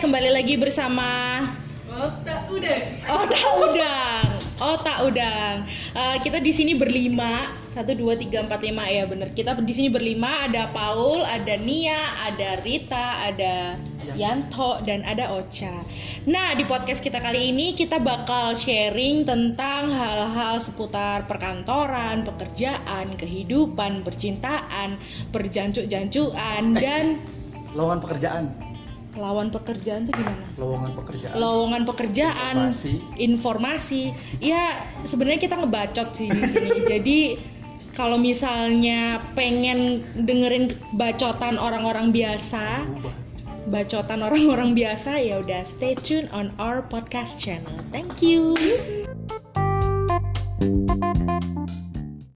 kembali lagi bersama Otak Udang. Otak Udang. Kita di sini berlima, 1, 2, 3, 4, 5 ya bener. Kita di sini berlima, ada Paul, ada Nia, ada Rita, ada Yanto dan ada Ocha. Nah, di podcast kita kali ini kita bakal sharing tentang hal-hal seputar perkantoran, pekerjaan, kehidupan, percintaan, perjancuk-jancuan dan lowongan pekerjaan. Lawan pekerjaan tuh gimana? Lowongan pekerjaan. Informasi. Ya, sebenarnya kita ngebacot sih di sini. Jadi kalau misalnya pengen dengerin bacotan orang-orang biasa, ya udah stay tune on our podcast channel. Thank you.